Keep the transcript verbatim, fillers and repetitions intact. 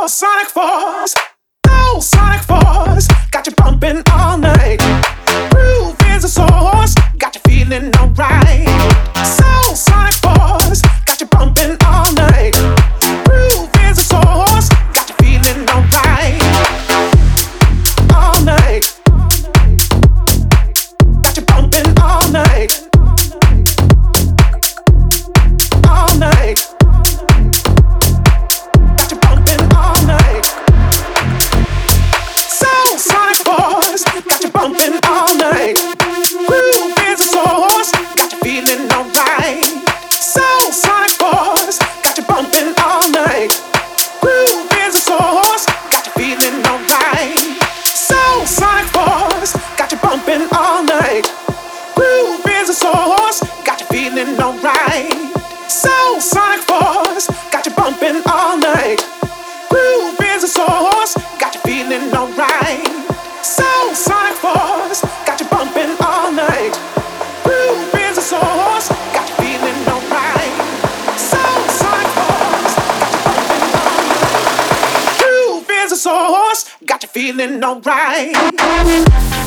Sonic Force, oh Sonic Force, got you bumping all night. Groove is a source, got you feeling alright. So Sonic Force, got you bumping all night. Groove is a source, got you feeling alright. All night, got you bumping all night. All night. Got you bumping all night. Groove is a source, got you feeling alright. So Sonic Force, got you bumping all night. Groove is a source, got you feeling alright. So Sonic Force, got you bumping all night. Groove is a source, got you feeling alright. So Sonic Force, got you bumping all night. Groove is a source, got you feeling alright. So Sonic Force, got you bumping all night. Groove is a source, got you feeling alright. So Sonic Force, got you bumping all night. Groove is a source, got you feeling alright.